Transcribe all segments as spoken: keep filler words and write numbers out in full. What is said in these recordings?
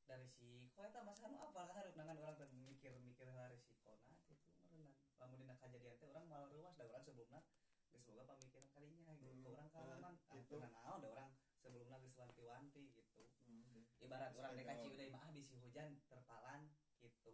dari risiko eta masa anu apa harus nangan orang teh mikir-mikir hal risikona gitu meureunnan lamun dina kajadian teh urang malah ruas da urang sebelumna geus boga pamikiran kalinya gitu hmm. Urang kalaman ah gitu. Nah naon da urang sebelumna geus wanti-wanti gitu hmm. Ibarat urang dek kaci udah mah bisi hujan terpalan gitu.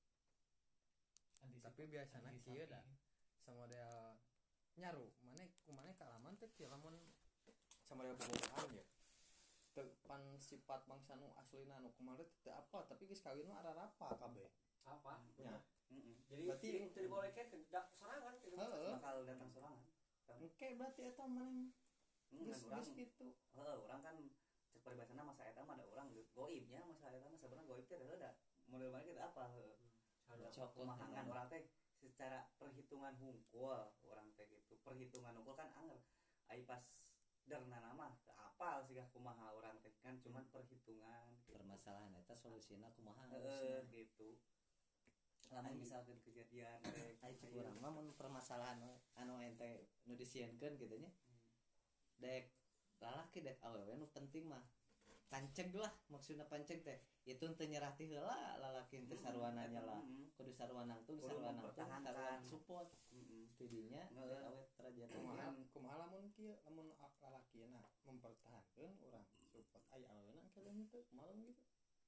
Tapi biasana kieu da samodel nyaru maneh kumaneh kalaman teh kieu lamun samodel bobogohan ya teu pan sifat bangsa nu aslina nu kumaha teh apa tapi geus kawin mah ararapa kabeh apa nya heeh jadi berarti teu dibolehkeun tidak sorangan gitu bakal datang sorangan engke berarti eta maneh geus geus kitu heeh urang kan cek paribasana masa eta mah da urang goibnya masa eta mah sabenerna goib teh da model mana kita apa heeh kumahangan urang teh secara perhitungan hungkul urang teh gitu perhitungan hungkul kan anger ai pas darna nama ke apal sih kumaha orang teh kan cuman perhitungan gitu. Permasalahan eta solusina kumaha heeh gitu lamun misalkan kejadian teh ai cek urang mah mun permasalahan anu ente nu disieunkeun kitu nya dek lalaki dek awewe nu penting mah panceg lah maksudna panceg teh itu teu nyerah ti heula lalaki teh sarwananya lah kudu sarwanang tuh sarwanang tuh sarwanang support tidinya awet raja kumaha kumaha lamun kieu lamun lalakina mempertahankeun urang support aya aweuna kalian teh kumaha gitu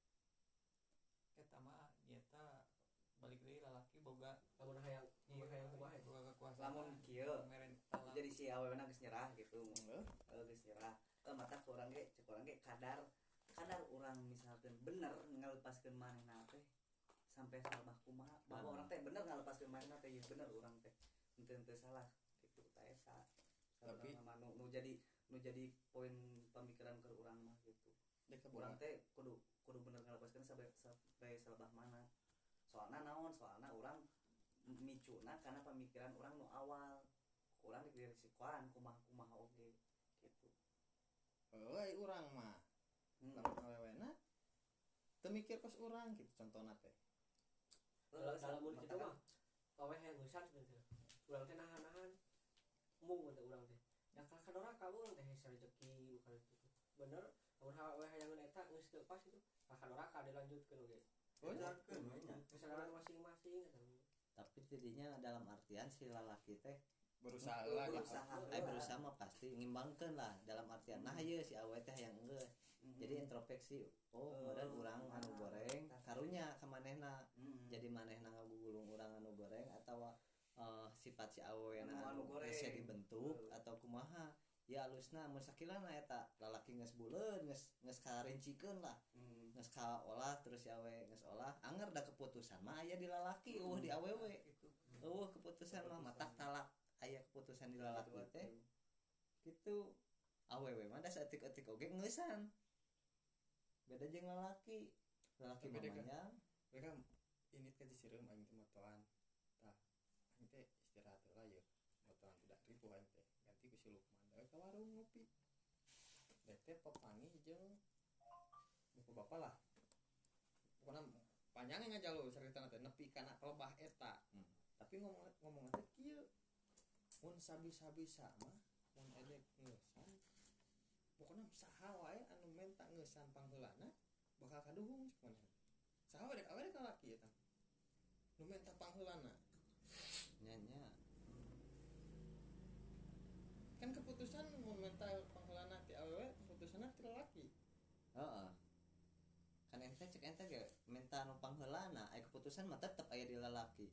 eta mah nyata balik deui lalaki boga lamun hayang hayang kumaha boga kekuasaan lamun kieu jadi si aweuna geus nyerah gitu heeh geus nyerah eh mata urang ge cek urang ge kadar kadar urang misalkan bener ngalepaskeun manehna teh sampai salah kumaha bahwa orang teh bener ngalepaskeun manehna teh bener urang teh henteu henteu salah gitu ta eta tapi nu nu jadi nu jadi poin pemikiran ke urang mah gitu urang teh kudu kudu bener ngalepaskeun sampai sampai salah mana soalna naon soalna urang micuna karena pemikiran urang nu awal urang diberi risikoan kumaha-kumaha oge gitu euy urang mah lamun awewena teu mikir kos urang gitu contohna teh dalam mun kitu mah aweh yang ngeusan gitu urang teh nahan-nahan mung teh urang teh ya ka kadora ka urang teh hese rezeki bukan itu bener lamun aweh yang eta geus teu pas itu ka kadora ka dilanjutkeun oge oh jangan nya kesalahan masing-masing tapi tidinya dalam artian si lalaki teh berusaha lah berusaha eh berusaha mah pasti ngimbangkeun lah dalam artian nah ieu si awewe teh yang enggeus jadi introspeksi oh modal urang anu goreng karunya ka manehna jadi manehna ngagugulung urang anu goreng atawa uh, sifat si awewe anu geus dibentuk atau kumaha ya alusna mun sakilana eta lalaki geus buleun geus geus karincikeun lah geus kaolah terus si awewe geus olah anger da keputusan mah aya di lalaki eueuh di awewe eueuh keputusan mah matak talak aya keputusan di lalaki teh gitu awewe mah da saeutik-eutik oge ngeusan beda jeung lalaki lalaki mamanya mereka ini kan disireum aing teh motoan tah aing teh istirahat heula yeuh motoan tidak ripuh aing teh ganti ku si Lukman da ka warung ngopi da teh papangi jeung buku bapa lah pokona panjang ngajalur caritana teh nepi kana kelebah eta hmm. Tapi ngomong ngomong teh kieu mun sabisa-bisa mah mun edek ngeusan pokona saha wae anu menta ngeusan pangheulana bakal kaduhung cek maneh saha wae dek awe dek lalaki eta nu menta pangheulana nya nya kan keputusan mun menta pangheulana ti awewe keputusanna ti lalaki heeh kan ente cek ente ge menta nu pangheulana aya keputusan mah tetep aya di lalaki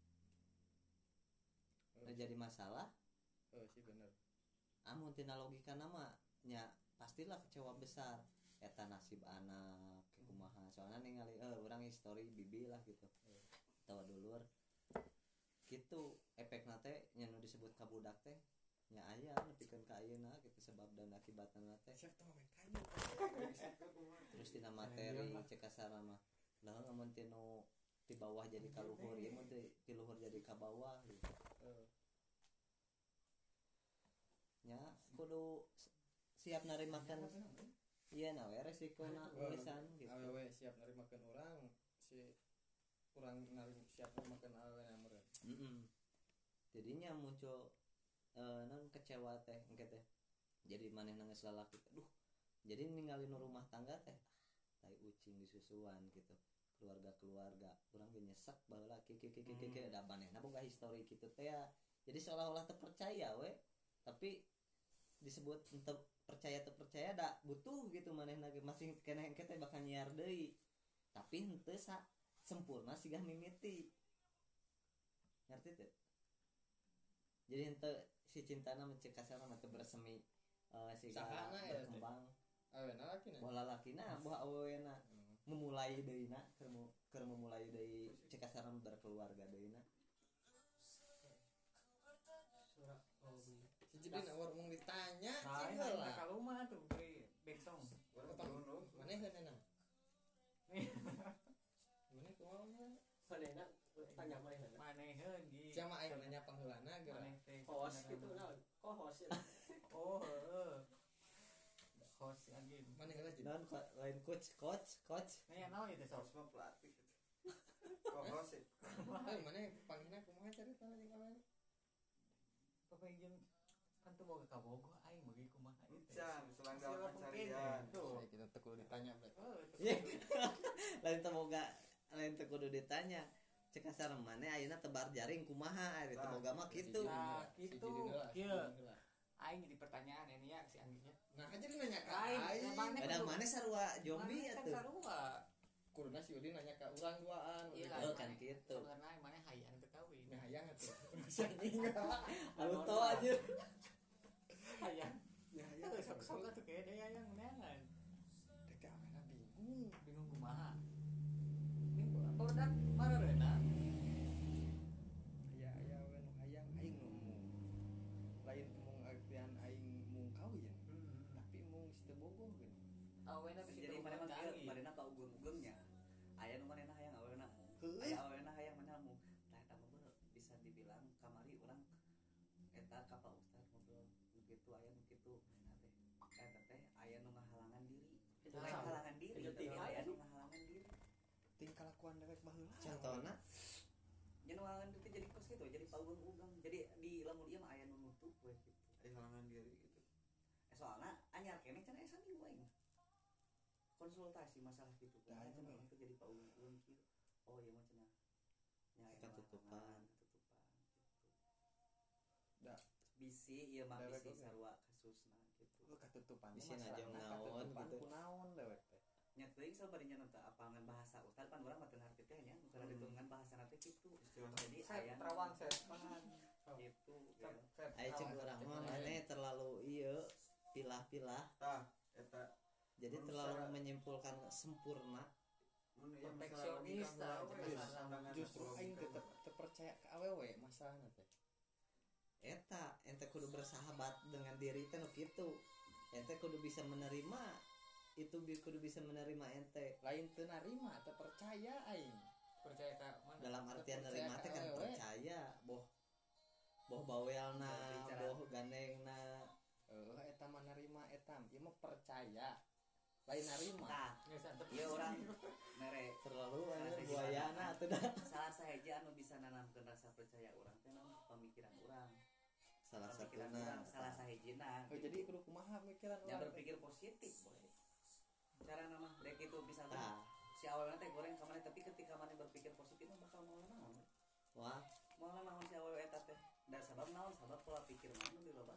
nu jadi masalah oh sih bener amun tina logikana mah nya pastilah kecewa besar eta nasib anak kumaha soalna ningali eh urang histori bibi lah gitu tawa dulur gitu efekna teh nya nu disebut kabudak teh nya aya nepikeun ka ayeuna gitu sebab dan akibatna teh terus tina materi cek kasarna mah lah amun tinu di bawah jadi ka luhur ieu mun ti luhur jadi ka bawah gitu nya kudu siap narimakan iya na we resikona gesan gitu awewe siap narimakeun urang si urang narim siap narimakeun awewe na meureun heeh jadinya muncul eh non kecewa teh engke teh jadi manehna geus lalaki aduh jadi ninggalin rumah tangga teh tai ucing disusuan gitu keluarga-keluarga urang ge nyesek baheula kieu kieu kieu kieu da manehna boga histori kitu teh ya jadi seolah-olah terpercaya we tapi disebut untuk percaya atau percaya da butuh gitu manehna ge masih keneh engke teh bakal nyiar deui tapi henteu sa sempurna sigah mimiti ngerti teh jadi henteu si cintana mencek kasana teh bersemi uh, sigah berkembang awena lakina bola lakina boh awena memulai deuna keur keur memulai deui cek kasana berkeluarga deuna surat oh beli si jadi awar mung ditanya Nah, sih ini lah kalau mah tuh beri bengsong. manehna mana kumaha manehna tanya manehna Maneheun di. siapa aing nanya pangheulana geura Maneh teh. host gitu naon co-host ya Oh, heeh. Host anjing. mana heula jadi dan lain coach coach coach Nih naon itu sok. Harus mah pelatih kok sih eh mana panggilna kumaha carita jeung awewe Pepengin kan tuh mau ke Kabogo aing bagi kumaha itu. Can, selang dalam Siapa pencarian. mungkin, tuh. saya kita teu kudu ditanya berarti Oh, itu. Ye. lain teh boga lain teh kudu ditanya cek kasar maneh ayeuna tebar jaring kumaha ari teh boga mah kitu Nah, Si gitu. jadi heula, si Kieu. jadi heula. Aing jadi pertanyaan ini ya si Anggitnya. nah aja nanya ka Aing, aing maneh kadang kudu- maneh sarua zombie Maneh kan atuh sarua. kuduna si Udin nanya ka urang duaan Iya urang Oh, lah, kan maneh- gitu. Sebenarnya mana hayang teu kawin. Nah, hayang atuh. Si anjing. auto aja Hayang. Ya hayang. Tuh sok-sok atuh kayak dia hayang meneangan. Dek awena bingung. Bingung kumaha. Ini produk marereuna. Aya aya we nu hayang aing nu mung. Lain mung artian aing mung kawin, tapi mung geus teu bogoh geuning. Awena bisa jadi mana mah kieu manehna ka ugeum-ugeumnya aya nu manehna hayang awena mu aya awena hayang manehna mu tah eta mah bisa dibilang kamari urang eta ka Pak Ustad ngobrol begitu aya nu kitu eta teh eta teh aya nu ngahalangan diri itu lain halangan diri Jadi aya nu ngahalangan diri Ting kalakuan dewek baheula. contohna jeung ngahalangan diri jadi kos gitu jadi paugeng-ugeng jadi di lamun ieu mah aya nu nutup we gitu Aya halangan diri gitu. eh soalna anyar keneh cenah esa minggu aing konsultasi masalah gitu Dah, kan itu cenah mah. itu jadi paugeng-ugeng kieu oh ieu mah cenah nya eta Ketutupan. ketutupan gitu Da. bisi ieu mah Dewek bisi oge. sarua kasusna gitu Lu katutupan. Bisi mah najong masalahna naon katutupan gitu. kunaon dewek teh. nya teuing sabarinya teh apangan bahasa ustad pan urang mah teu ngarti teh nya nu kana ditungan bahasa teh kitu Istilah jadi Set aya terawang set. gitu ya. Set. aya cek urang mah maneh terlalu ieu pilah-pilah tah eta jadi Manusia. terlalu menyimpulkan sempurna mun ieu masalah Perfeksionis logika tah, heula, jeung we, masalah- pandangan Justru logika aing mah. tetep teu percaya ka awewe masalahna teh. eta ente kudu bersahabat dengan diri teh nu kitu ente kudu bisa menerima itu bi- kudu bisa menerima ente Lain teu narima, teu percaya aing. Percaya ka mana? dalam artian Percaya nerima teh ka kan awewe. percaya boh boh bawelna Berbicara. boh gandengna Eueuh eta mah narima eta, ieu mah percaya. Lain narima. tah Geus antep. ieu urang mere terlalu Salah anjir sahiji buayana mana? atuh dah salah saheja anu bisa nanamkeun rasa percaya urang teh naon pamikiran urang salah pemikiran satuna urang salah sahijina Oh, jadi kudu kumaha pikiran yang urang teh? berpikir positif boy cara nama dek itu bisa tah si awalnya teh goreng kamane tapi ketika mana berpikir positif mah bakal mau naon wah mau naon si awal eta teh da sabab naon sabab pola pikir mana nu diloba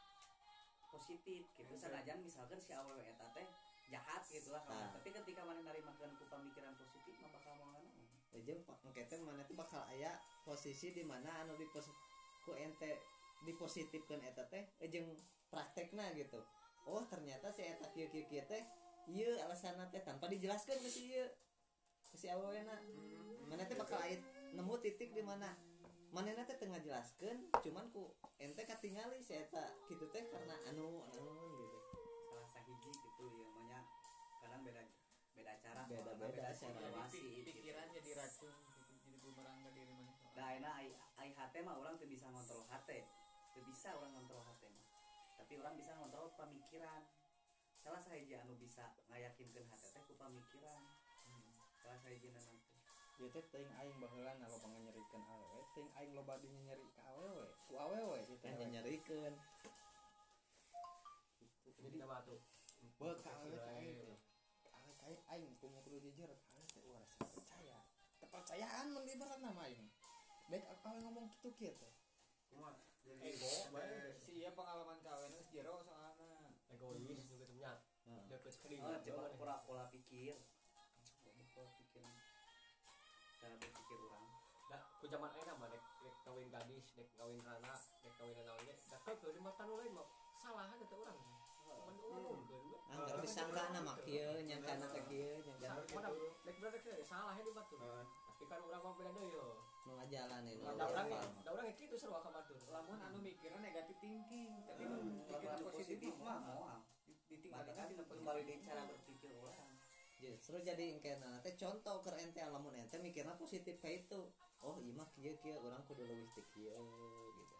positif gitu sanajan misalkan si awal eta teh jahat gitu lah Nah. tapi ketika mana narimakeun ku pamikiran positif mah bakal mau naon jeung engke teh mana teh bakal aya posisi di mana anu di pos ku ente dipositifkeun eta teh jeung praktekna gitu oh ternyata si eta kieu kieu kieu teh ieu alasanna teh tanpa dijelaskeun ke si ieu ke si awalna mana teh bakal aya nemu titik di mana manehna teh teu ngajelaskeun cuman ku ente katingali si eta kitu teh karena anu anu gitu salah sahiji gitu ya manya kadang beda beda cara Beda-beda cara. situasi Jadi pikiran jadi racun gitu, jadi bumerang ke diri mana. da ayeuna ai ai hate mah urang teu bisa ngontrol hate teu bisa urang ngontrol hate mah tapi urang bisa ngontrol pamikiran salah sahiji anu bisa ngayakinkeun hate teh ku pamikiran salah sahijina nanti Ieu teh teuing aing baheula na loba nganyerikeun awewe, teuing aing loba di nyeri ka awewe, ku awewe gitu. hanya nyarikeun Jadi Jadi batu. beuh ka awewe ka aing teh. Ka awewe ka aing aing kumu kudu jujur awewe teh urang rasa percaya kepercayaan mun ibarat nama aing baik awewe ngomong kitu kieu teh Kumaha jadi Ego, bae. eh, Si ieu pengalaman kawin geus jero soalna. egois juga tuh nya Heeh. deket ke Oh, dieu coba pola pola pikir pola pikir cara berpikir orang da ku zaman ayeuna mah dek dek kawin gadis dek kawin rana dek kawin naon ge da keukeun di mata nu lain mah salah aja teh urang mun ngomongkeun we anggar disangka mah kieu nyangkana teh kieu nyangkana salah dek bener dek salah he di batur eh, tapi kan urang mah beda deui yo nu ngajalanin nu da urang ngapal. da urang kitu sarua ka batur Lamun anu mikirna negatif thinking, tapi Hmm, mun kalau pikiran anu positif positif mah mah moal ditingkatkan makanya tina kembali positif. di cara berpikir orang Justru jadi engkena teh contoh keur ente lamun ente mikirna positif ka itu. Oh, ieu mah kieu kieu urang kudu leuwih teh kieu gitu.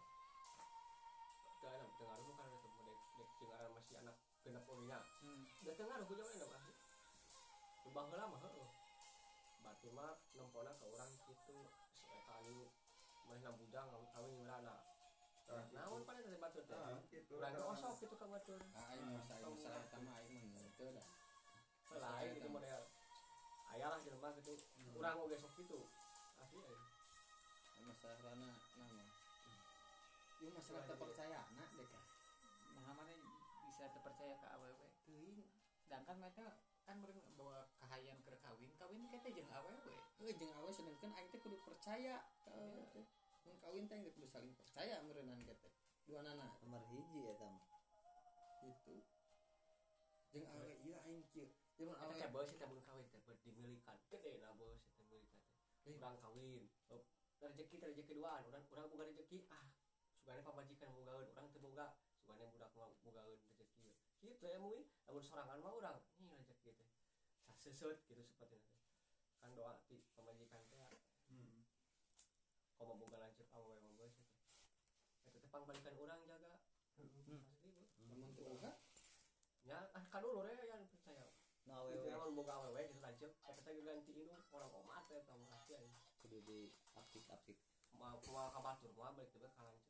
da enak dengaruh bukan itu dek dek jeung aran masih anak genep ulinya Hmm. da dengaruh ku zaman enak asli ubah heula mah heueuh batur mah nempona ka urang kitu si eta anu manehna bujang kawin ngeurana ah, naon panen teh batur teh ah, gitu. urang teh osok kitu ka batur ah aing masa aing masalah eta mah aing mah teu dah lain gitu model aya lah jelema gitu urang oge sok kitu asli aing masalah rana nama ieu masalah kepercayaana dek Nah, mana bisa terpercaya ke awewe teuing. Sedangkan mereka kan meureun bawa kahayang keur kawin, kawin kita jeung awewe. heuh jeung awewe sedengkeun aing teh kudu percaya ka awewe teh mun kawin teh geus kudu saling percaya meureunnan ge teh duanana Nomor hiji eta mah. gitu jeung awewe ieu aing kieu jeung mun eta awewe teh beus teh mun kawin teh dimilikan gede na beus teh milikan teh urang kawin oh, rezeki teh rezeki duaan urang urang boga rezeki ah sugane pamajikan bogaeun urang teu boga sugane budak mah bogaeun rezeki kitu ya mui lamun sorangan mah urang nih rezeki teh saseut gitu seperti itu kan doa ti pamajikan teh Hmm. komo boga lanceuk awewe mah beus eta eta teh pangbalikan urang jaga Hmm. asli beus lamun teu boga nya ah kadulur ya yang percaya Nu Itu awewe lamun boga awewe gitu lanceuk eta teh ganti indung orang omat teh tah pasti aya kudu di apik-apik. mau mau ka batur mau balik teh ka lanceuk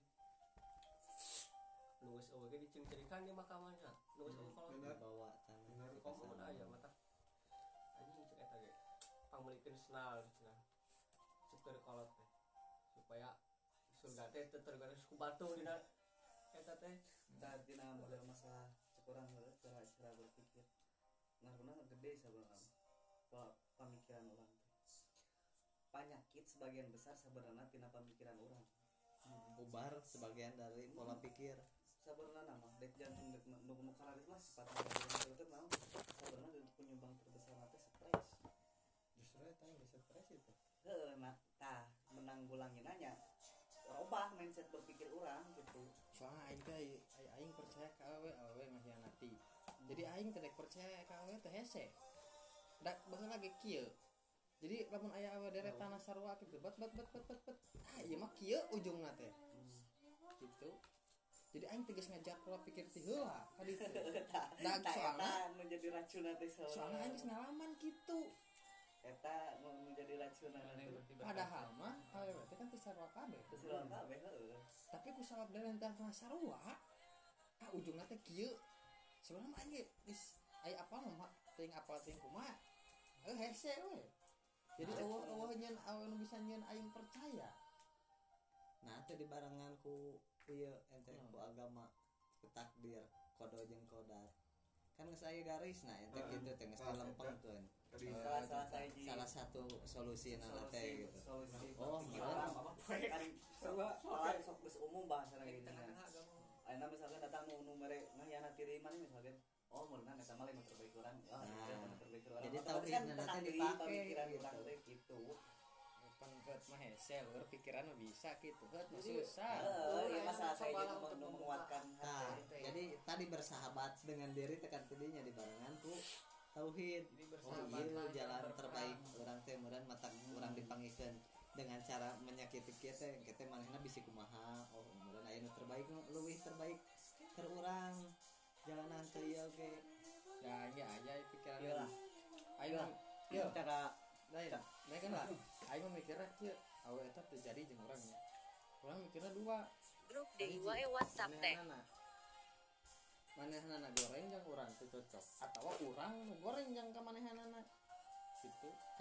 nu geus eueuh ge dicengcerikan di makamanya nu geus eueuh kalau Bener. Bawa tanah Bener. ke komo mun sana. aya mata anjing cek eta ge pangmelikeun senal cenah cek keur kolot teh supaya surga teh teu tergaris ku batu dina eta teh saat dina model masalah cek orang heureuh cara cara berpikir ngaruhna gede sabenerna pola pemikiran orang teh penyakit sebagian besar sebenarnya tina pemikiran orang Ubar sebagian dari pola pikir. sabenerna nama dek jantung dek nu nu kalaris mah sifat jantung teh naon sabenerna penyumbang terbesar na teh stres justru eta yang geus stres itu heueuh nah tah menanggulangi nanya robah mindset berpikir orang gitu soalnya aing teh ai- aing percaya ka awewe awewe nghianati jadi aing teh dek percaya ka awewe teh hese dak baheula lagi kieu jadi lamun aya awewe deretanna sarua kitu bet bet bet bet bet bet ah ieu mah kieu ujungna teh gitu jadi aing teh geus ngajak pola pikir ti heula ka ditu dan tah soalna eta nu jadi racunna teh soalna aing geus ngalaman kitu eta nu nu jadi racunna teh padahal mah awewe teh kan teu sarua kabeh terus lawan kabeh heueuh tapi ku salap deretanna sarua ah ujungna teh kieu sebenarnya mah aing geus aya apa mah teuing apal teuing kumaha eh hese we jadi eueuh-eueuh nyeun awewe nu bisa nyeun aing percaya Nah, teh dibarengan ku ieu ente Hmm. ku agama ku takdir kodo jeung kodar. Kan geus aya garis nah ente Heeh. kitu teh geus dilempengkeun. Tadi Eh, salah salah sahiji Salah satu solusina lah teh gitu. solusi Oh, pikiran iya. apa kan soal sok geus umum bahasana gini tengah-tengah agama ayeuna misalkan datang nu nu mere ngahyanati diri mana misalkan oh meunang eta mah lain terbaik urang ah Nah, itu mah terbaik urang jadi Otomatis tauhid kan nanti tentang diri, dipake pemikiran gitu. urang teh gitu pangkat mah hese eur pikiran mah bisa kitu heut mah Jadi, susah heeh ya masalah saya cobalah jadi untuk nu membuka. menguatkan Nah, hati jadi tadi bersahabat dengan diri tekan tidinya dibarengan ku tauhid. Jadi Oh bersahabat iya lah, jalan berperang. terbaik orang teh meureun mata urang dipanggikeun dengan cara menyakiti kieu teh kieu manehna bisi kumaha oh meureun aya nu terbaik nu leuwih terbaik keur urang jalanan teh ieu oge ya ya aja pikiran Iya lah. aing mah Iya. cara lain lain kan lah aing mah mikirna kieu awewe eta terjadi jeung urang nya urang mikirna dua Grup D I Y WhatsApp teh. manehanana goreng jeung urang teu cocok atawa urang nu goreng jeung ka manehanana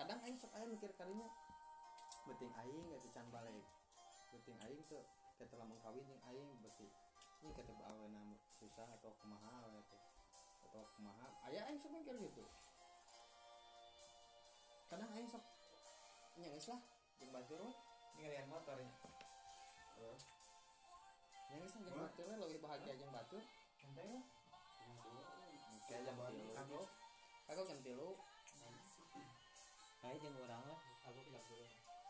kadang aing sok aya mikir kalinya beuting aing geus can balik beuting aing tuh kita lamun kawin jeung aing beuti ini kata aweuna susah atau kumaha we teh atau kumaha aya aing sok mikir gitu kadang aing sok nya geus lah jeung batur we ningalian motornya heeh nya geus lah jeung batur we leuwih bahagia jeung batur santai lah kayak jam tilu aku aku jam tilu kayak jeung urang lah aku bilang dulu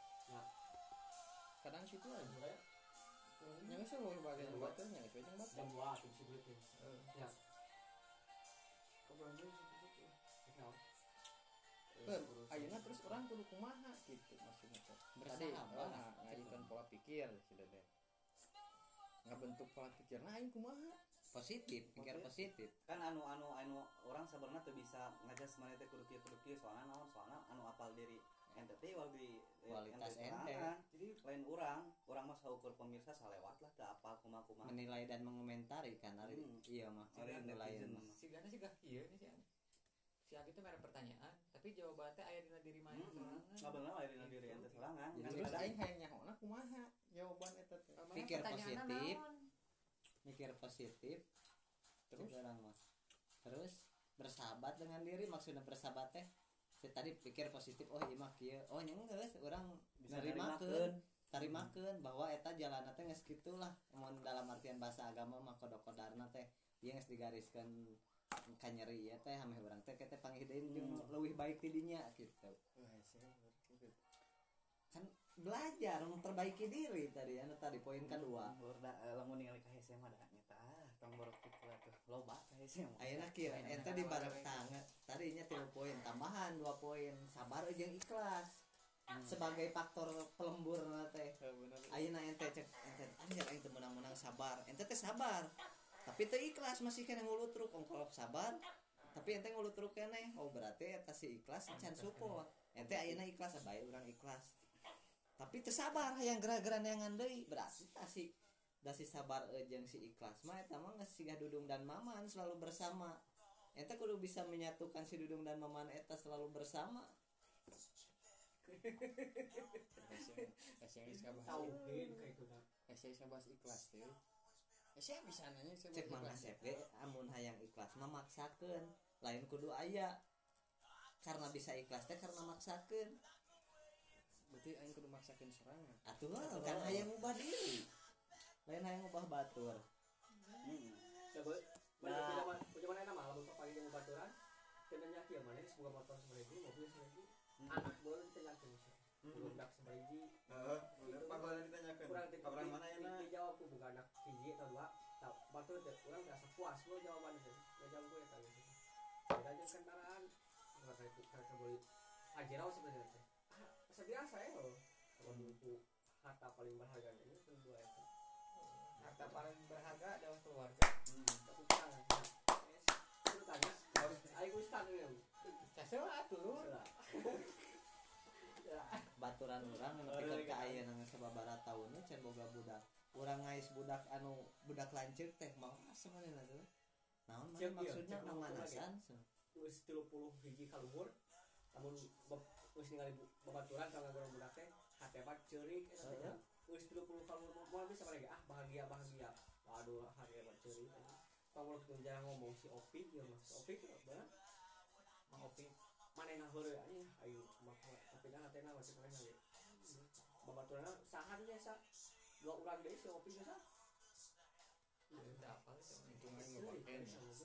kadang situ aja yang bisa lo bagian buat tuh yang bisa jeung jam batur dua tuh si buletin ya Kebetulan situ situ. ya Ke, ayeuna terus orang kudu kumaha gitu maksudnya teh. Tadi Bersahabat. nah, ngajikeun pola pikir si Dede. Ngabentuk pola pikirna aing kumaha? positif pikir positif kan anu anu anu orang sebenarnya tuh bisa ngajas mana teh kudu kieu kudu kieu soalnya naon soalnya anu apal diri ente teh wal di Kualitas ente ente. sorangan. Jadi lain orang orang mah saukur pemirsa salewat lah teu apal kumaha-kumaha menilai dan mengomentari kan hari Hmm. iya mah Ari penilaian netizen mah mah. si gana sih gak iya nih sih si Agi tuh merek pertanyaan tapi jawabannya aya dina diri mana Hmm, sorangan ngabeulna lain dina diri ente sorangan. Jadi Kan Terus kadang aing hayang nyahoana kumaha jawaban eta teh. Kamana Pikir pertanyaanna positif. naon? mikir positif Terus orang mah terus bersahabat dengan diri maksudnya bersahabat teh saya tadi pikir positif oh iya mah kieu oh nya geus urang bisa narimakeun tarimakeun bahwa eta jalanna teh geus kitu lah mun dalam artian bahasa agama mah kodok-kodarna teh ieu geus digariskeun ka nyeri ieu teh hameh urang teh kete panghideun jeung leuwih baik ti dinya gitu wah saya gitu. kan belajar memperbaiki diri tadi anu tadi poin kedua Urda lamun ningali ka hese mah da nyata ah tong borok kitu atuh loba ka hese mah. ayeuna kieu ente di bareng tangga tadinya tilu poin tambahan dua poin sabar jeung ikhlas sebagai faktor pelembur teh ayeuna ente cek ente anjir aing teu menang-menang sabar ente teh sabar tapi teu ikhlas masih kena ngulutruk ongkol sabar tapi ente ngulutruk keneh oh berarti eta si ikhlas can support ente ayeuna ikhlas bae urang ikhlas tapi teu sabar hayang gerak-geran yang deui berarti tah si da si sabar e jeung si ikhlas mah eta mah geus siga Dudung dan Maman selalu bersama ente kudu bisa menyatukan si Dudung dan Maman eta selalu bersama Kasih geus kabah. tauhid kayak itu dah Kasih kabah ikhlas teh. Kasih bisa nanya saya cek Mang Asep ge amun hayang ikhlas mah maksakeun lain kudu aya karena bisa ikhlas teh karena maksakeun berarti aing kudu maksakeun sorangan. atuh kan hayang ngubah diri lain hayang ngubah batur Heeh. coba Nah. mana zaman mana mah lamun pagi jeung baturan kenanya kieu mana semoga motor seberiji mobil seberiji anak boleh ditanyakeun belum dak seberiji Heeh, bener panggilan ditanyakeun. kurang di Kabaran mana ya na? dijawab ku bukan anak hiji atau dua tak batur teh urang rasa puas lo jawaban teh jawab gue tadi beda jeung kendaraan enggak kayak itu kayak boleh ajarau sebenarnya teh ah biasa ya lo kalau buku harta paling berharga ini itu dua itu harta paling berharga adalah keluarga tapi tangan itu tanya ayo ustaz ini casewa atuh baturan urang anu pikeun ka ayeuna geus sababaraha taunna can boga budak urang ngais budak anu budak lanceuk teh mau asa manehna teh naon mana Cek, iya, maksudnya cek pamanasan wis tilu puluh hiji kaluhur namun wis ningali babaturan kalau ngagorong budak teh hate bat ceurik eta teh wis tilu puluh kaluhur moal bisa lagi ah bahagia bahagia waduh hate bat ceurik kalau kita jarang ngomong si Opik ya mah si Opik bener Mang Opi manehna heureuy anjing ayo maka tapi dah hatena masih keren lagi babaturanna sahan ge sa dua urang deui si Opik ge sa udah apa sih Untung aing ngapakeun.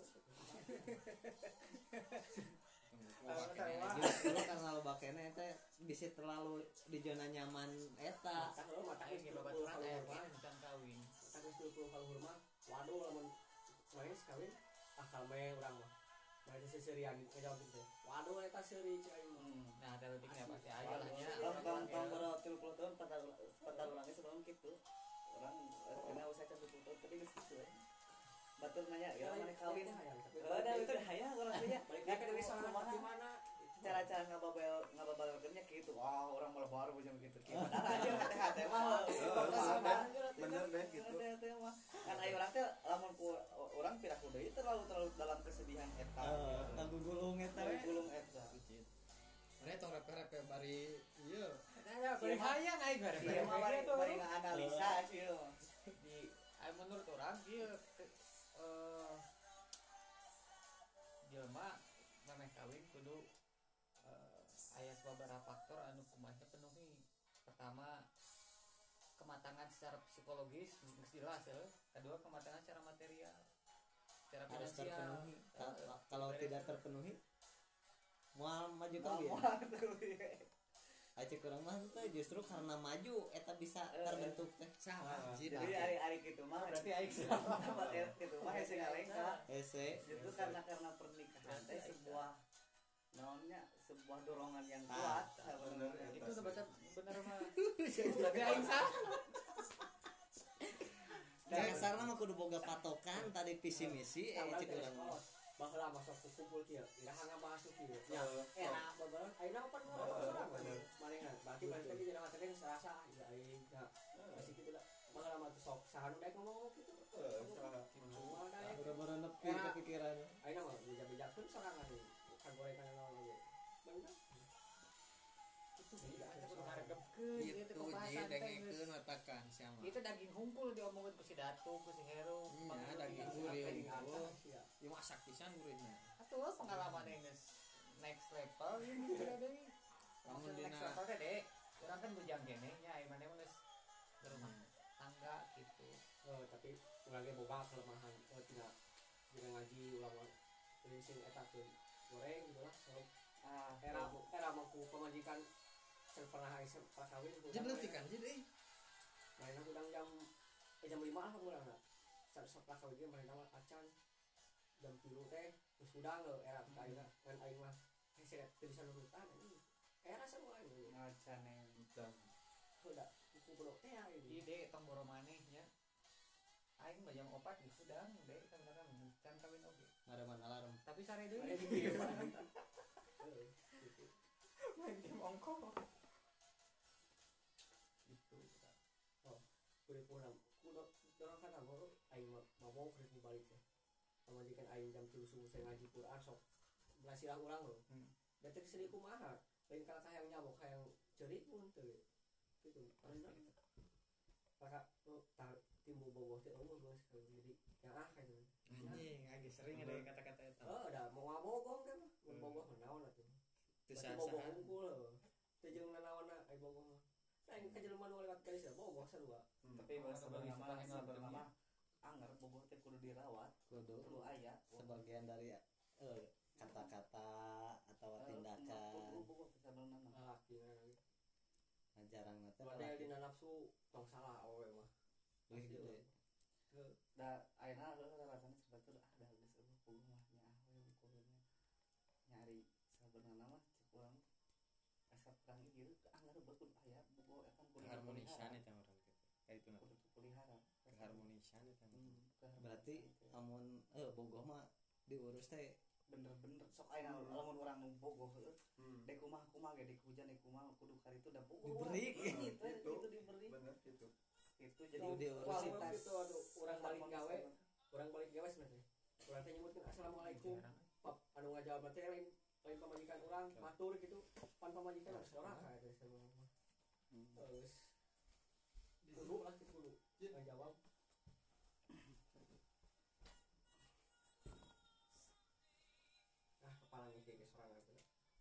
Justru karena lo bakene teh bisa terlalu di zona nyaman eta. mata lo mata ayo geus ge tilu babaturan puluh aya kaluhur ge can kawin mata geus tilu puluh kaluhur mah waduh lamun main sekali ah kalme urang mah main seserian ngejawab teh waduh eta seuri cai nah ada letiknya pasti aja lah nya Tong tong tong boro tilu puluh tahun patalulang ge sebelum kitu. Urang kena usaha tilu puluh tahun tapi geus kitu we. Batur nanya ya mana kawin. Heeh, da itu hayang urang teh nya. balik ke dari sana di mana Cara-cara ngababel ngababelkeunnya kitu. Wah, urang malah baru jeung kitu. Padahal aja hate-hate mah. Bener deh gitu. Hate-hate mah. Kan aya urang teh lamun ku urang pirah ku deui terlalu terlalu dalam kesedihan eta. Lagu gulung eta we. Gulung eta. Mana tong repe-repe aing gara Iya mah bari bari nganalisa sih mah. di ay menurut orang ieu eh jelema memeh kawin kudu eh, aya sababaraha faktor anu kumaha penuhi. Pertama, kematangan secara psikologis geus jelas ya. Kedua, kematangan secara material, secara Harus finansial. terpenuhi. Ka- Eh, Kalau beres. tidak terpenuhi moal maju Mau kawin. tuh. Acek urang mah teh justru karena maju eta bisa Eh, terbentuk teh. Sama anjir. Jadi hari-hari gitu mah Berarti aing tempat gitu mah hese ngalengka. Ese Itu karena karena pernikahan teh sebuah naonnya sebuah dorongan yang Nah, kuat sebenarnya. itu udah bener bener mah. Berarti aing salah. dasarna mah kudu boga patokan tadi visi misi eh cek urang mah. Baheula masuk ku kumpul kieu irahanna masuk kieu ya era bageus ayeuna opan urang marengan berarti berarti tadi jadi ngatain serasa ya aing ya masih kitu da baheula mah sok saha nu daek ngomong kitu semua daek Bara-bara nepi kepikiran. ayeuna mah beja-bejakeun sorangan kagorengan naon ge bener Hargepkeun Gitu ieu teh ji pembahasan teh. dengekeun matakan siapa. Itu daging hungkul diomongin ku si Datu, ku si Heru. Iya, daging gurih. Ieu masak pisan gurihna. Atuh pengalaman yang next level ini sudah deui. Lamun Next dina level teh deh. Urang kan bujang kene nya ai mane mah geus berumah tangga gitu. oh tapi urang ge boga kelemahan oh tina jeung ngaji ulama teuing sing eta teh goreng gitu lah so Ah, era era mangku pemajikan can pernah aya prakawin jebletikan jadi euy. Mainan udang jam eh jam lima lah mulai nak. Saat setelah kawin dia mainan mah acan jam tilu teh terus udang lo era kita aina kan aing mah hese teu bisa nurutan ini era semua ini ngacane. udah kuku belok teh Ieu ini deh tong boro maneh nya. Aing mah jam opat geus udang deh sebenarnya can kawin oge. Ngareman alarm. Tapi sare deui. ada di dia gitu Main game ongko. Gitu. kudu pulang kudu dorong kana baru aing mah mau kudu balik teh pamajikan aing jam tilu subuh saya ngaji Quran sok belas silang urang lo Hmm. da teh sedih kumaha lain kala hayang nyamuk hayang cerik mun teu gitu karena kakak oh tak timbul boboh teh oh geus jadi yang ah kan Anjing, lagi sering ada kata-kata eta. oh da mau ngabogong teh mah mun boboh mah naon atuh Teu Berarti boboh sah-sahan. unggul teh jeung nanaonna ai boboh mah lain ka jelema nu lewat kali boboh sarua Tapi sebenarnya mah sebenarnya anger boboh teh kudu dirawat, Kudu kudu aya. sebagian dari eh, kata-kata atau tindakan Boboh sebenarnya mah. laki jarang nanti padahal dina nafsu tong salah awewe mah lebih gede. Da ayeuna rasana sebetulnya ah da geus eueuh bogoh mah nya ah we kudunya nyari sebenarnya mah cek urang asa kurang ieu anger beuh kudu aya bogoh eta kudu Keharmonisan eta urang gitu. Kayak itu kudu dipelihara. keharmonisan eta mah. Hmm, keharmonisan Berarti teh. amun eh bogoh mah diurus teh bener-bener sok ayeuna lamun urang nu bogoh heuh Hmm. dek kumaha kumaha ge dek hujan dek kumaha kudu karitu da bogoh Diberi. gitu Gitu. itu diberi Bener gitu. itu jadi Kudu diurus. kualitas itu aduh urang balik gawe urang balik gawe sebenarnya urang teh nyebutkeun assalamualaikum pap anu ngajawab teh lain lain pamajikan urang matur gitu pan pamajikan harus doraka eta sebenarnya mah geus kudu lah kitu kudu ngajawab ah kepala nih kayak sorangan tuh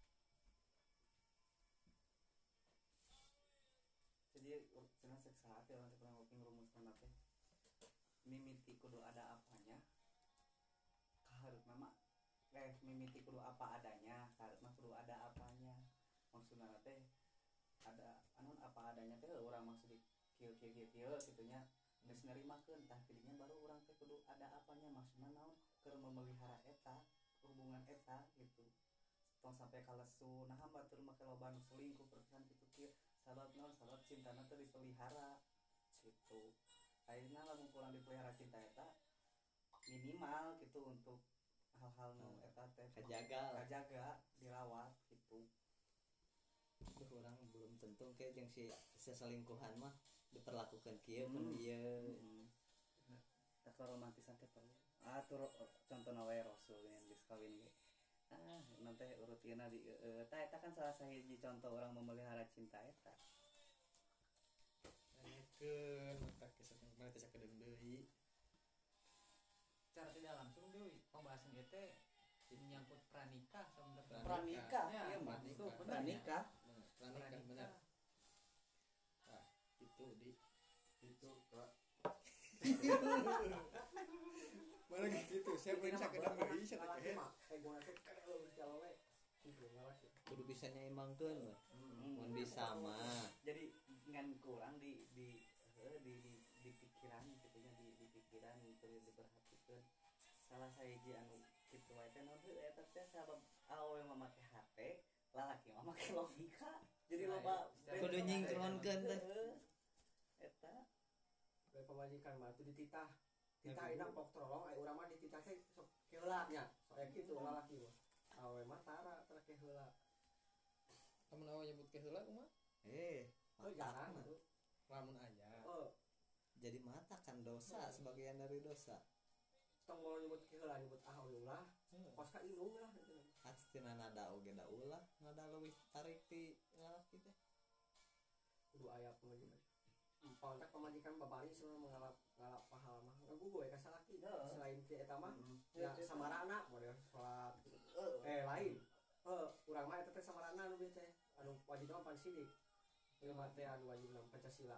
jadi cenah cek saat ya nanti kurang lebih rumusna teh mimiti kudu ada apanya kaharep nama eh mimiti kudu apa adanya kaharep mah kudu ada apanya maksudna teh ada anu apa adanya teh urang maksud di kieu kieu kieu kieu kitunya geus nerimakeun tah tidinya baru urang teh kudu ada apanya maksudna naon keur memelihara eta hubungan eta gitu tong sampai kalesu nah batur make loba nu selingkuh perpisahan kitu kieu sabab naon sabab cintana teh dipelihara gitu ayeuna lamun kurang dipelihara cinta eta minimal gitu untuk hal-hal nu eta teh kajaga lah. kajaga dirawat gitu Tuh orang belum tentu kayak yang si seselingkuhan mah diperlakukan kieu pun Hmm. ieu tak romantisan teh perlu ah tuh contohna wae Rasul yang geus kawin ge ah nanti urut ieu di uh, eta eta kan salah sahiji contoh orang memelihara cinta eta dipaksakeun mata kesan mana teh sakedeung deui. Secara tidak langsung deui pembahasan ieu teh menyangkut pranikah sebenarnya. Pranikah, Ya, iya pranikah. maksud pranikah. Bener, pranikah bener. Nah, itu di Itu kak. mana gitu saya pun sakedeung deui saya teh Lalaki mah eh gua teh kada leuwih si awewe gitu lalaki kudu bisa nyimbangkeun we. Mun bisa mah Jadi ngan kurang di di eh, di di, di pikiran gitu nya di di pikiran gitu diperhatikan salah sahiji anu kitu wae teh naon heuh eta teh sabab awewe mah make H P lalaki mah make logika jadi Nah, loba ya, kudu nyingkronkeun teh. Heuh. Eta bae pamajikan mah teu dititah titah enak pok tolong aya urang mah dititah teh sok keula nya sok aya kitu lalaki mah awewe mah tara tara ke heula amun awe nyebut ke heula kumaha eh oh jarang mata tuh lamun aya oh jadi mata kan dosa sebagian dari dosa. tong mau nyebut ke heula nyebut ah ulah kos ka indung lah gitu Astina nada oge da ulah nada leuwih tarik ti lalaki teh. kudu aya pamajikan Pantak pamajikan babari semua mengalap ngalap pahala mah ngagugu we ka salaki selain ti eta mah ya samarana model salat eh lain eh urang mah eta teh samarana anu teh anu wajib mah pan sidik ieu mah teh anu wajib nam Pancasila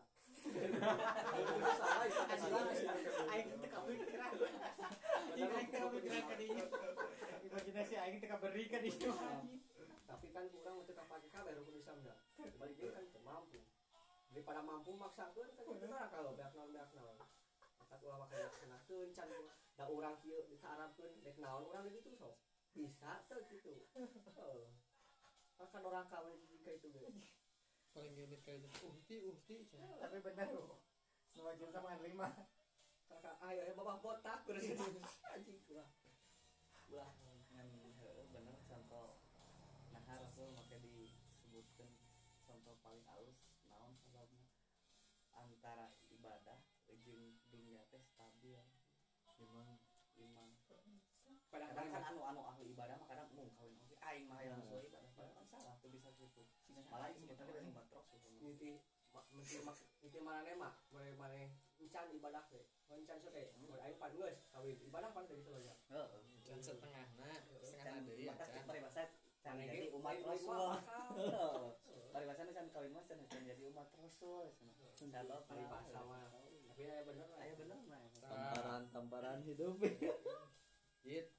salah itu Pancasila Aing teu kapikiran. Aing teu kapikiran ka dieu. Imajinasi aing teu kaberi ka dieu. tapi kan urang teu kapake kabeh rukun Islam da balik deui kan teu mampu daripada mampu maksakeun kan itu tara kalau beak naon beak naon tak ulah make laksanakeun can da urang kieu ditaarapkeun dek naon urang gitu sok bisa teu kitu heeh kan orang kawin jika itu ge paling unit kayak gitu uhti uhti cenah. Tapi bener loh. Nu wajib sama lima. kakak ayo ayo babah botak bener anjing ulah ulah ngan heuh bener contoh nahar tuh make disebutkeun contoh paling alus naon sababna antara ibadah jeung dunia teh stabil Memang iman padahal kadang kan kan anu anu ahli ibadah mah kadang mung kawin oge aing mah hayang suwe ibadah padahal kan salah tuh bisa gitu malah itu sebetulnya dari batrok sih niti mesti mak niti manane mah boleh maneh encan ibadah teh encan sote boleh aing pan geus kawin ibadah pan teh gitu aja heeh can setengahna setengahna deui ya mata can paribasa can Maneh jadi ge umat umat rasul rasul paribasa can kawin mah can can jadi umat rasul sabab paribasa mah tapi aya bener lah aya bener mah tamparan tamparan hidup. Git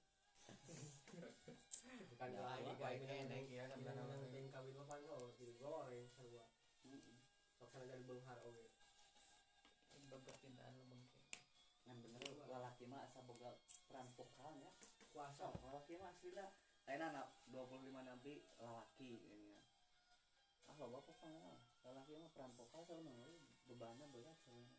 bukan Ya, lagi baik kayak enek ini ya, yang sebenarnya. penting kawin mah pan oh jadi goreng sarua sok sana jadi beunghar oge Bebertintaan lu mungkin. ngan bener lalaki mah asa boga peran vokal nya kuasa lalaki mah aslinya lain anak dua puluh lima nanti lalaki ini ya ah lo bapak panggil lalaki mah peran vokal sama bebannya berat sebenarnya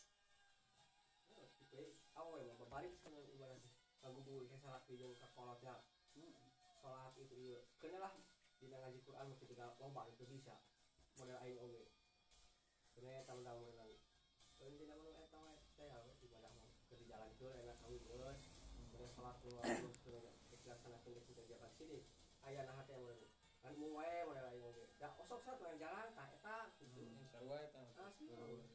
oke awe mah babari sana ibarat ngagugu ke salaki jeung ka kolotnya salat itu ieu keuna lah dina ngaji Quran mah ketika loba itu bisa model aing oge keuna tamu-tamu nang keun dina mun eta we teh ibadah mah keur dijalankeun enak kawin geus keuna salat keluar terus keuna dilaksanakeun di kegiatan sini aya nah teh mun kan mung wae model aing oge da osok salat we jalan tah eta gitu sarua eta asli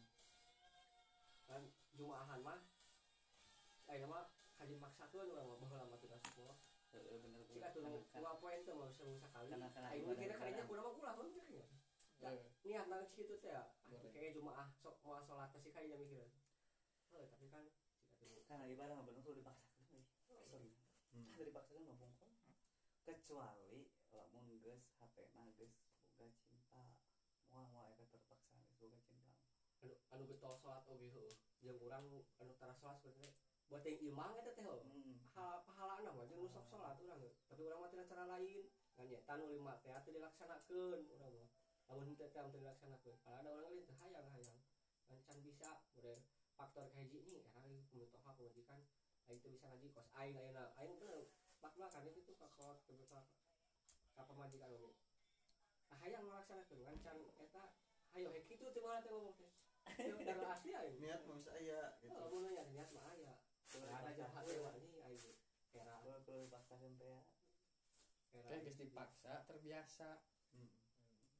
kan jumaahan mah ayeuna mah kaji maksakeun urang mah baheula mah teu sekolah heeh bener jika tuh dua poin tuh mau bisa sekali Karena- karena aing ibadah mikirnya kayaknya negara. kudu mah ulah kan mikirnya niat nang situ teh ya kayak jumaah sok mau salat sih kayaknya mikirnya oh tapi kan jika tuh karena ibadah mah bener kudu dipaksakeun we asli tah dipaksakeun mah bungkul kecuali lamun geus H P-na geus boga cinta moal moal eta terpaksa geus boga cinta anu anu getol salat oge heuh jeung urang anu tara salat sebenarnya buat yang imang eta teh heuh hmm pahalana mah jeung nu sok salat urang ge tapi urang mah tina cara lain ngan nya tanu lima teh teu dilaksanakeun urang mah lamun henteu teh teu dilaksanakeun padahal ada urang lain teh hayang hayang kan can bisa model faktor kahiji nih era ieu pemitoha pemajikan aing teu bisa ngaji kos aing ayeuna aing teh bak-bakan itu tuh ka kolot ke ka pemajikan oge ah hayang ngalaksanakeun kan can eta hayo he kitu teh mana teh ngomong teh dari asli aing niat mah bisa aya gitu oh mun nya niat mah aya ada jahat teh mah nih aing era kudu kudu dipaksakeun teh ya era kayak geus dipaksa terbiasa Hmm. geus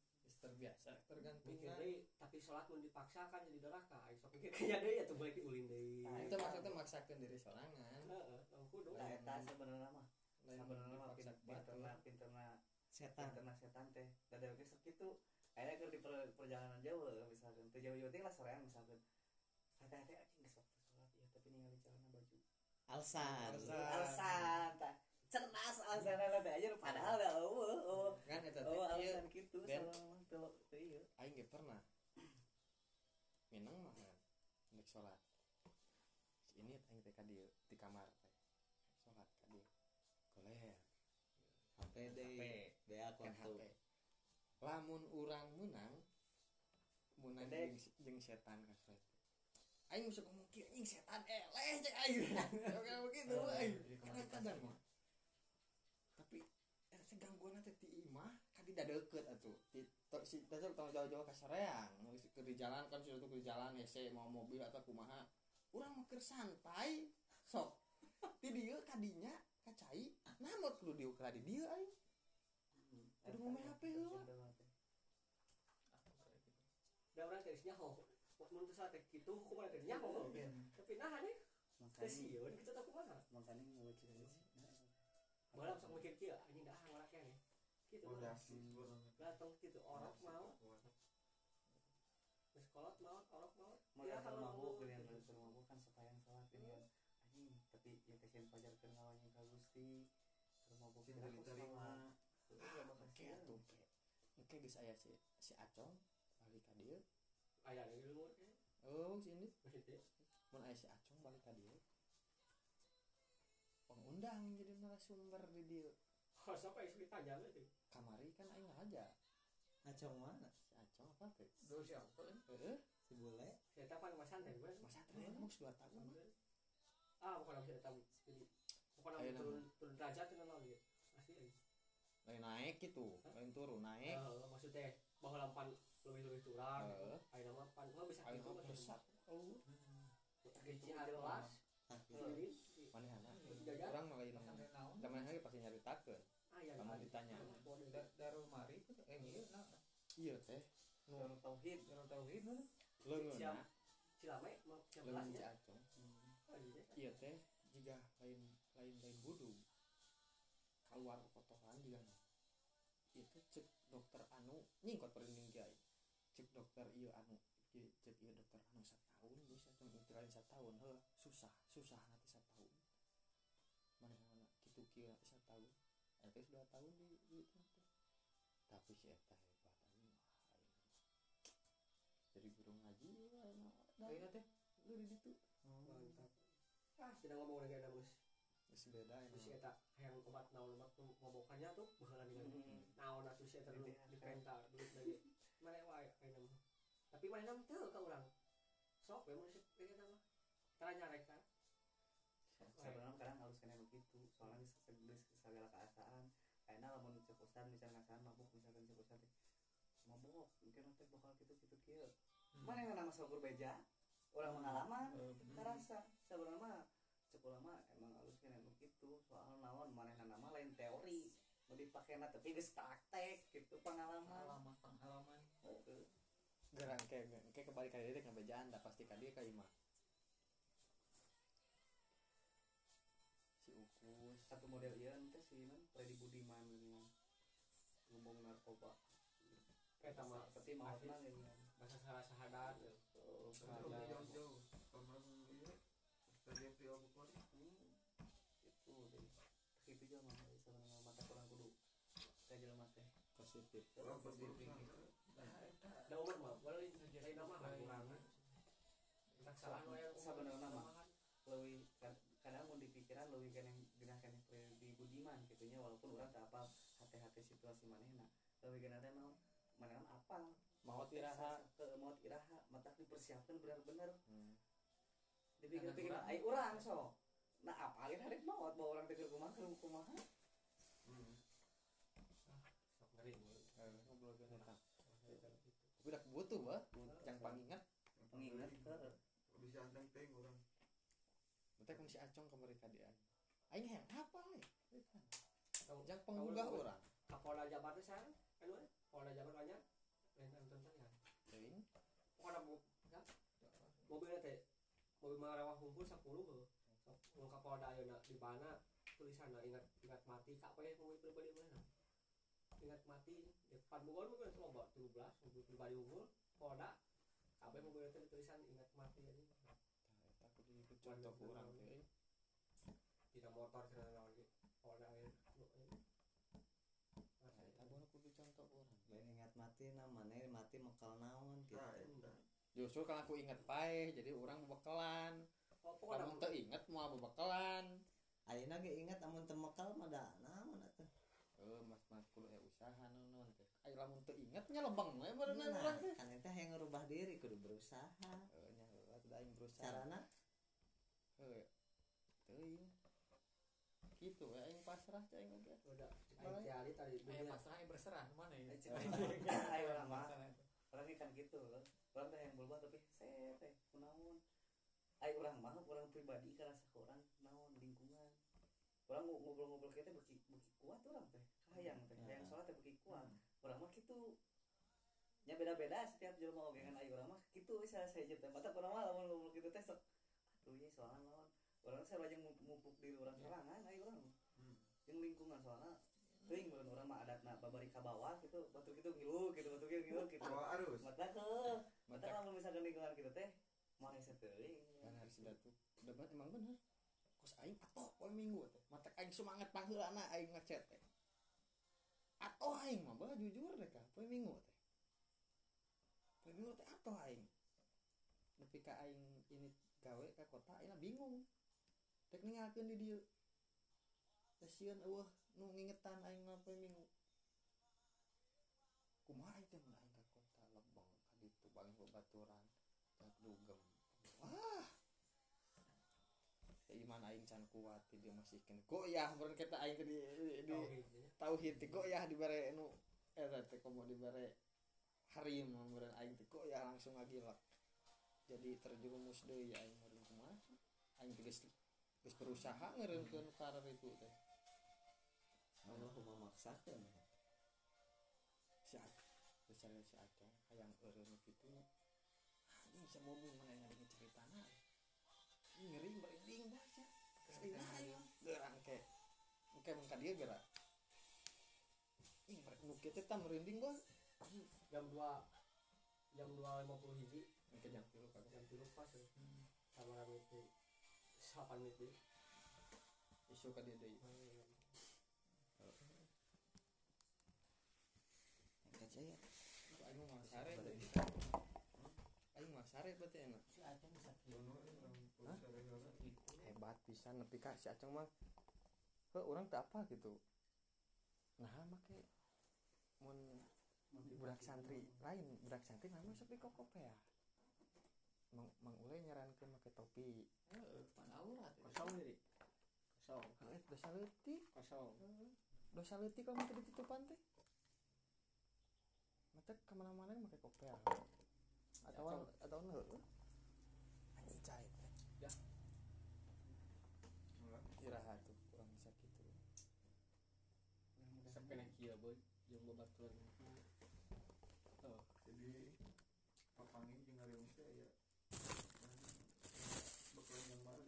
terbiasa mungkin tergantungan deui tapi sholat mun dipaksakan jadi doraka aing sok mikir kaya deui atuh boleh diulin deui Nah, itu maksudnya maksakan diri sorangan heeh tong kudu Nah, eta sebenarnya mah lain sebenarnya mah dipaksa pinterna pinterna setan pinterna setan teh dada oge sok kitu akhirnya keur di per- perjalanan jauh lah, misalkan teu jauh-jauh teh lah sorean misalkan hati-hati anjing geus waktu sholat ya tapi ningali celana baju alsan Alsan. alasan tah cerdas alasan ada aja padahal dah eueuh eueuh kan eta teh oh ieu alasan kitu Ben. salah mah teu teu ieu aing ge pernah minang mah kan untuk sholat ini aing teh ka dieu di kamar teh sholat ka dieu goler H P deui bea kan kontu H P lamun urang menang menang Pendek. jeung jeung setan ka sret aing masuk ngomong kieu anjing setan eleh cek aing kayak begitu aing kadang-kadang mah tapi eta teh gangguan teh ti imah ka di dadeukeut atuh ti to- si teh tong jauh-jauh ka soreang geus keur di jalan kan sudah tuh di jalan hese mau mobil atau kumaha urang mah keur santai sok ti dieu ka dinya ka cai namun kudu dieu ka di dieu aing kudu ngomong H P heula da urang teh nyaho mun teu salah teh kitu hukuman teh nyaho tapi nah nih teu makanya sieun kitu teh kumaha makanya ngeuweut sih balam sok mikir kieu anjing dah ngora keneh kitu fondasi kurang datang kitu orok mau geus kolot mau orok mau mau ya kalau kalau mabuk mau geulian keur mabuk kan supaya salat ini kan anjing tapi ya kesien pajar keur ngawanya ka Gusti keur mabuk Sing tidak diterima. enggak bakal oke atuh oke oke geus aya si si Acong balik ka dieu aya deui lumur teh oh si ini masih teh mun aya si Acong balik ka dieu pengundang jadi narasumber di dieu oh sampai isu ditanya teh kamari kan aing ngaraja acong mana si Acong apa teh Duh siapa kan? heeh si bule saya tapan mas santai gue masa teh mau dua tahun mah ah bukan bisa tahu jadi bukan Ayo, turun turun derajat itu nol gitu asli aja lain naik gitu lain turun naik eh maksudnya bahwa lampan lebih lebih turun Heeh. ayo nama pan gua bisa aing gitu mah besar kalau kecil kelas ini manehna jajan urang mah lain Sampai naon? da manehna ge pasti nyaritakeun ayah Kamu ditanya. Da- Darul Mari itu eh ieu nah ieu teh nu Darul Tauhid Darul Tauhid mana? leungeunna cilame mau yang leungeun belasnya si Acong ieu teh jiga lain lain lain budug keluar kotoran juga nah itu cek dokter anu nyingkot perinding kiai cek dokter ieu anu ieu cek ieu dokter anu satahun bisa cuma lain satahun heuh susah susah nanti satahun mana mana kitu kieu nanti satahun eta dua tahun di di itu teh tapi si eta hebat aing mah aing jadi guru ngaji aing Ayeuna teh lu di ditu mantap ah tidak ngomong lagi ada bos geus beda terus ini kita yang obat naon obat tuh ngobokannya tuh bakalan dengan naon atuh sih terus dipenta duit lagi mana wae ayeuna mah tapi mana nam teu ka urang sok we mun ini nama tanya reka sebenarnya kadang harus kena begitu soalnya geus segala keadaan karena lamun cek ustad misalnya ngasahan mabuk misalkan cek ustad teh mabuk mungkin nanti bakal gitu gitu kieu mana yang nama saukur beja orang pengalaman karasa sebenarnya mah cek ulama emang harus kena begitu soal naon manehna nama lain teori mau dipakena tapi geus praktek gitu pengalaman pengalaman pengalaman. Heeh. geran kayak kayak kebalik kali dia ngebejaan dah pasti ka dia ka imah si ukus satu model ieu teh si non Freddy Budiman geuningan ngomong narkoba eta mah tapi maafna geuningan bahasa salah sahadat oh jauh jauh jauh kamar ini tadi pria bukan itu deh itu juga mah sebenarnya mata kurang kudu kajelema teh positif orang positif da umur mah boleh lain nama kurangan tak salah nu aya sebenarnya mah leuwih kadang mun dipikiran leuwih keneh genah keneh Freddy Budiman gitunya walaupun urang teu apal hate-hate situasi manehna leuwih genah teh naon manehna apal maut iraha ke maut iraha matak dipersiapkan benar-benar hmm. dipikir-pikir ai urang so nah apalin hari maut bawa orang pikir kumaha keur kumaha sok ngeri mun Eh, ngobrol ke eta tapi udah butuh bah yang pangingat pengingat ke bisa anteng teng orang teh kun si Acong kamari ka dia aing hayang apa we Tahu- yang tahu penggugah lu, urang Kapolda Jabar teh sareng anu Polda Jabar banyak lain anton saya teuing pokoknya bu ya mobilnya teh mobil marewah hunkul sepuluh heuh mun kapolda ayeuna di mana tulisanna ingat ingat mati kak we mobil pribadi mana ingat mati depan bukan mobil itu loba tujuh belas mobil pribadi unggul polda kabeh mobil itu tulisan ingat mati ini tah eta kudu ikut contoh urang teuing tidak motor cenah naon ge polda ayeuna tah eta baru kudu contoh urang lain ingat mati namanya mati mekal naon gitu Nah, eta. justru kan aku inget pae jadi urang bebekalan lamun teu inget moal bebekalan ayeuna ge ingat amun teu mekal mah da naon atuh eh mas mas kudu aya usaha naon teh aya lamun teu inget nya lebeng we berenang nah, urang teh kan eta yang ngerubah diri kudu berusaha eh nya atuh aing berusaha carana heuh teuing kitu we aing pasrah teh aing oge udah aing tiali tadi Aya dunia pasrah aya berserah mana ya? Ayo orang mah Masalah itu. orang ini kan gitu loh orang teh yang berubah tapi set teh kunaon ayo orang mah orang pribadi karasa ke orang naon lingkungan orang ngobrol-ngobrol kita beki beki kuat orang teh hayang teh hayang sholat teh beki kuat orang mah gitu nya beda-beda setiap jelema oge kan ayo orang mah gitu saya saya teh mata orang mah lamun ngobrol gitu teh sok aduh ye soalna naon orang saya lajeng mumpuk diri orang sorangan ayo orang jeung lingkungan soalna teuing mun urang mah adatna babari ka bawah gitu batur kitu ngilu gitu batur kitu ngilu gitu Bawa arus. mata ke mata lamun misalkan lingkungan kitu teh moal hese teuing kan harus datu debat emang bener kos aing atoh poe minggu teh mata aing semangat pangheulana aing ngechat teh atoh aing mah bah jujur deh ka poe minggu teh poe minggu teh atoh aing nepi ka aing ini gawe ka kota aing bingung tek ninggalkeun di dieu teh sieun eueuh nu ngingetan aing mah poe minggu kumaha aing teh mun aing ka kota lebeng ka ditu paling babaturan tak dugem wah iman aing can kuat ti dia masihkeun goyah beureun kita aing ke di di tauhid ti goyah dibere nu eta teh komo dibere harim beureun aing teh goyah langsung ngagilak jadi terjerumus deui aing meureun kumaha aing teh geus geus berusaha ngeureunkeun karir itu teh Allah memaksakan si Acong misalnya si Acong hayang eureun kitu anjing sama mobil mana yang ada ceritana ngeri merinding baca kesina aing geurang ke engke mun ka dieu geura ing nu kieu teh merinding gua jam dua jam dua lima puluh hiji engke jam tilu kagak jam tilu pas ya sama rame itu delapan menit deh isu ka dieu deui engke saya aing mah sare aing mah sare berarti enak Si Aceng bisa Hah? Hebat pisan nepi ka si Aceng mah heuh urang teu apa gitu nah make mun budak santri lain budak santri mah masuk di kokop ya mang mang uleh nyarankeun make topi heeh pan aurat kosong diri kosong heuh dosa leutik kosong dosa leutik kalau make ditutupan teh mata kemana-mana make kopel atau atau heuh anjing cai teh ya iraha tuh kurang bisa gitu sampai kieu boy jeung babaturan Oh, jadi papangi jeung ngareung teh aya bakalan yang baru.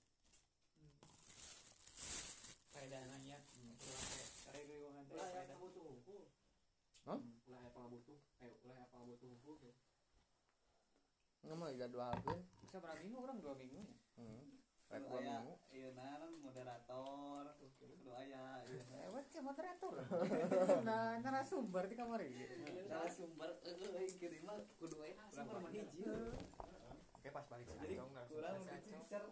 faedah nanya urang teh ari lingkungan teh ulah aya faedah pabutuh hukum Hah? ulah aya pabutuh ayo ulah aya pabutuh hukum ya ngomong jadwalkeun bisa berapa minggu orang dua minggu ya heeh rek kudu dua aya minggu ieu naon moderator kudu aya ieu lewat ke moderator nah narasumber di kamar ieu narasumber euy kieu mah kudu aya narasumber mah hiji oke pas balik si jadi Acong langsung kurang si Acong. dicer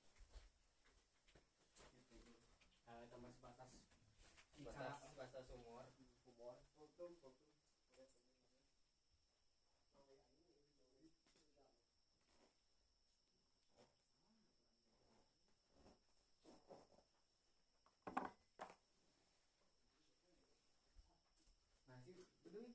aya tambah sebatas batas batas umur humor tuh tuh masih beduin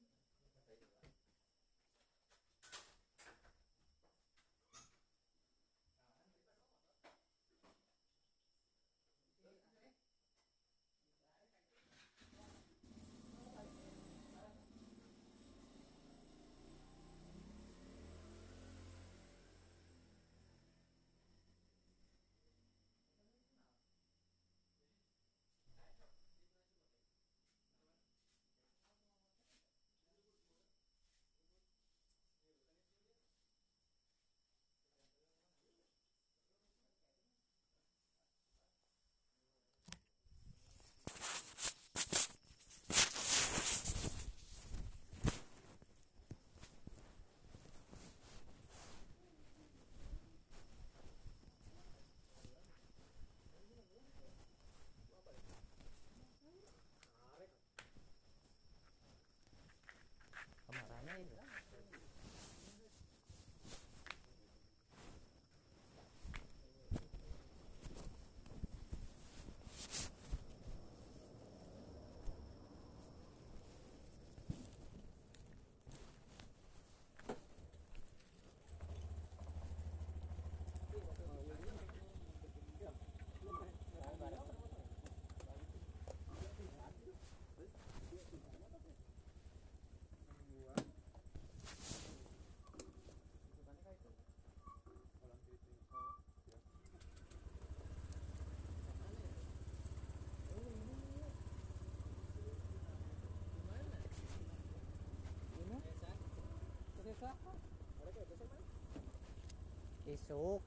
Isuk.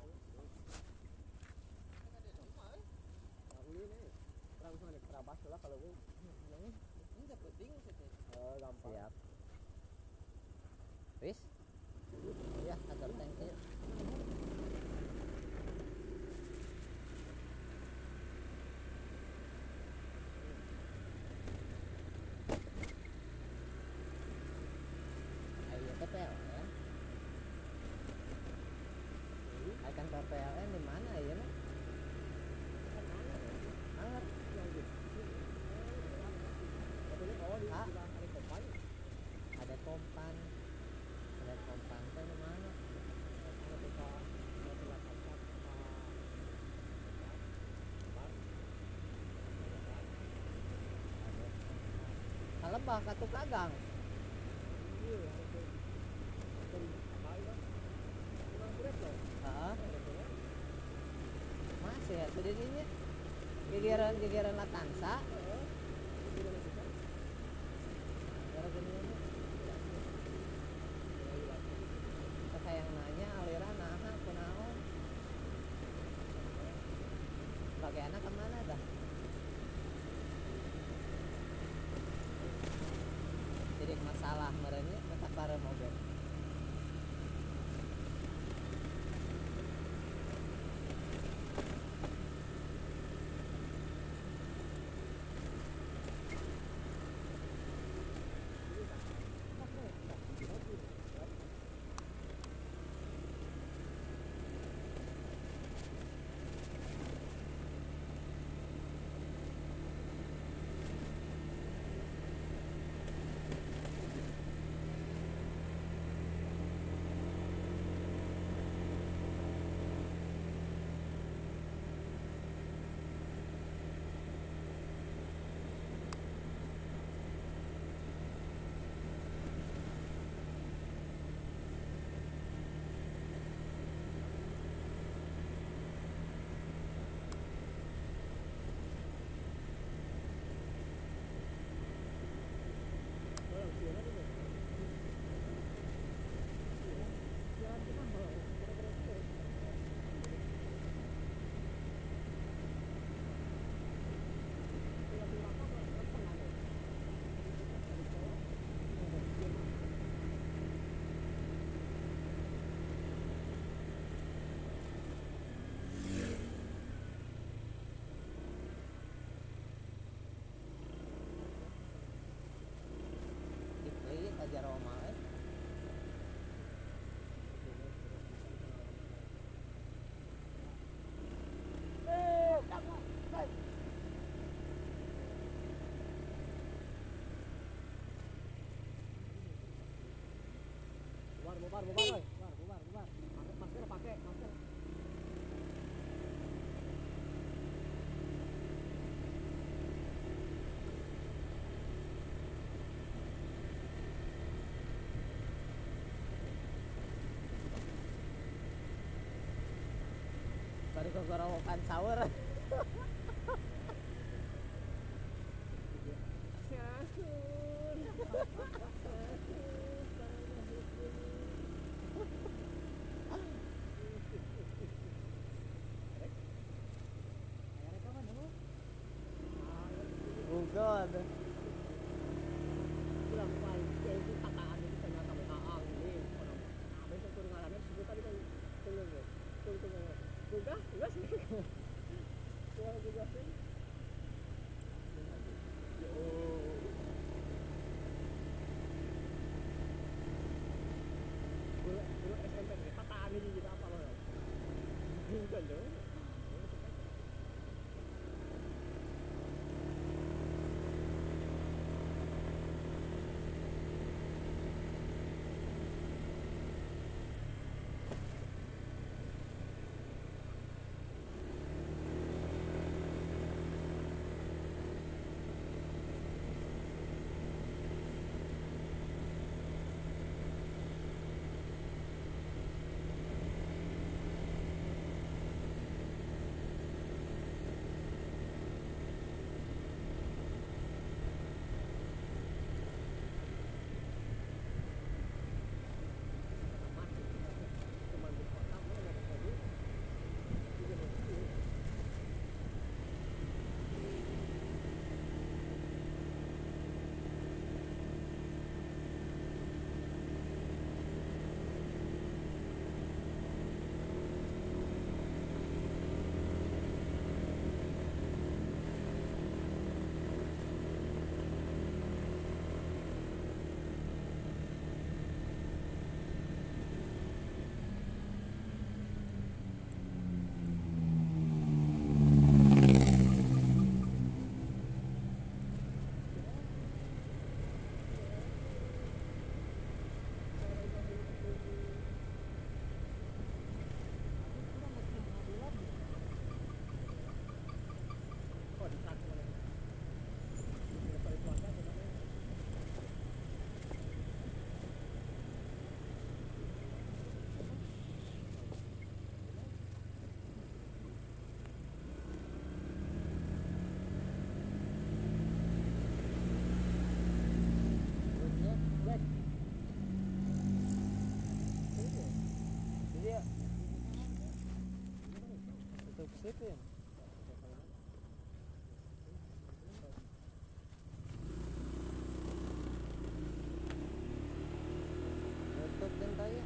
Siap. Wis. Ya, atur tank yuk. Ayo ke P L N. Ayo kantor P L N di mana ya? Anget. Ah, ada kompan. Ada kompan teh di mana? Kalebah ka Tukagang. Heeh. Masih ya tadi ini. Gigiran gigiran Latansa. Yang nanya aliran naha kunaon sebagai anak kemana dah jadi masalah merenya tetap para mobil aja Roma eh. Bubar, bubar, bubar, bubar, bubar, bubar. Masker pakai, masker. Tadi kok gorowokan sahur. Oh god. Pulang balik itu takaan itu ternyata takaan ini orang. Nah, besok turun ngarannya sebut tadi kan tunggu. Tunggu tunggu. Buka, buka sih. Suara buka sih. Oh. Guru guru S M P takaan ini juga apa loh? Bukan dong. Dipin. Tutup din tayo.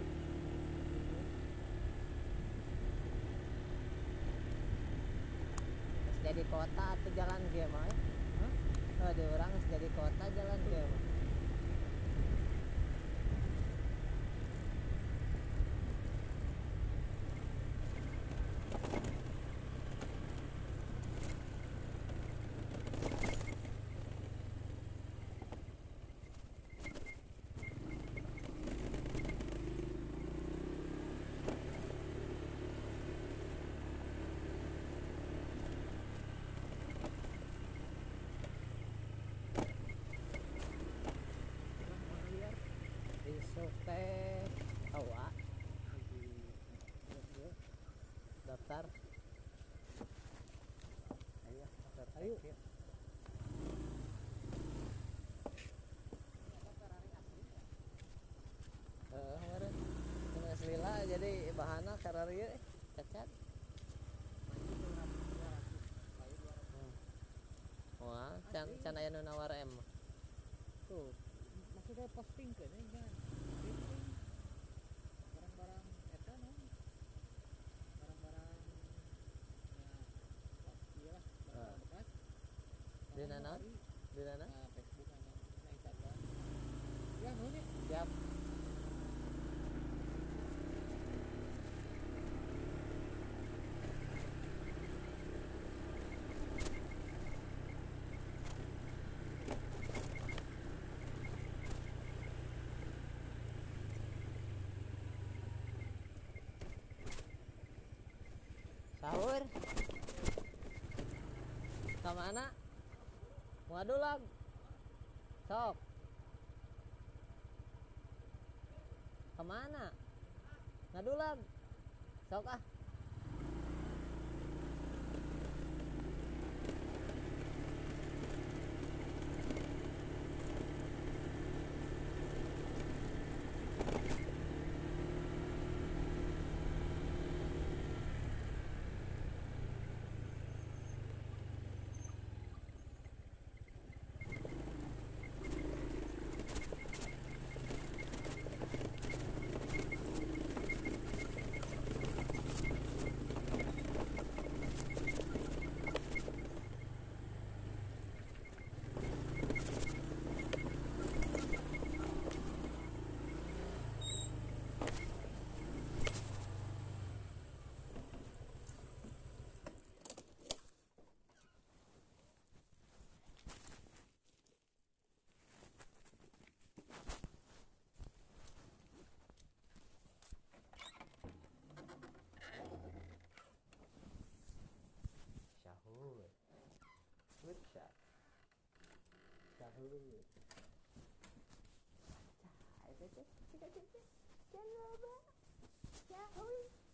Terus jadi kota atau jalan game mah? Hah? Oh, di orang geus jadi kota jalan game. Besok teh awa daftar. Ayo daftar. Ayo. Eh, kemarin kena selila jadi bahana kararieu cacat. Hmm. Wah, can can aya nu nawar em. Tuh, maksudnya posting ke nih kan. Barang-barang eta no. Barang-barang ya iyalah barang bekas. Di mana? Di mana? Nah, Facebook ana na Instagram. Ya, nuhun ya. Siap. Sahur. Kemana? Waduh lag. Sok. Kemana? Ngadulag. Sok ah. Sahur. Good shot. Sahur. Cah, itu cah, cah, cah, cah. Jangan lupa. Sahur.